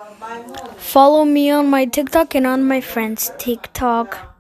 Follow me on my TikTok and on my friend's TikTok.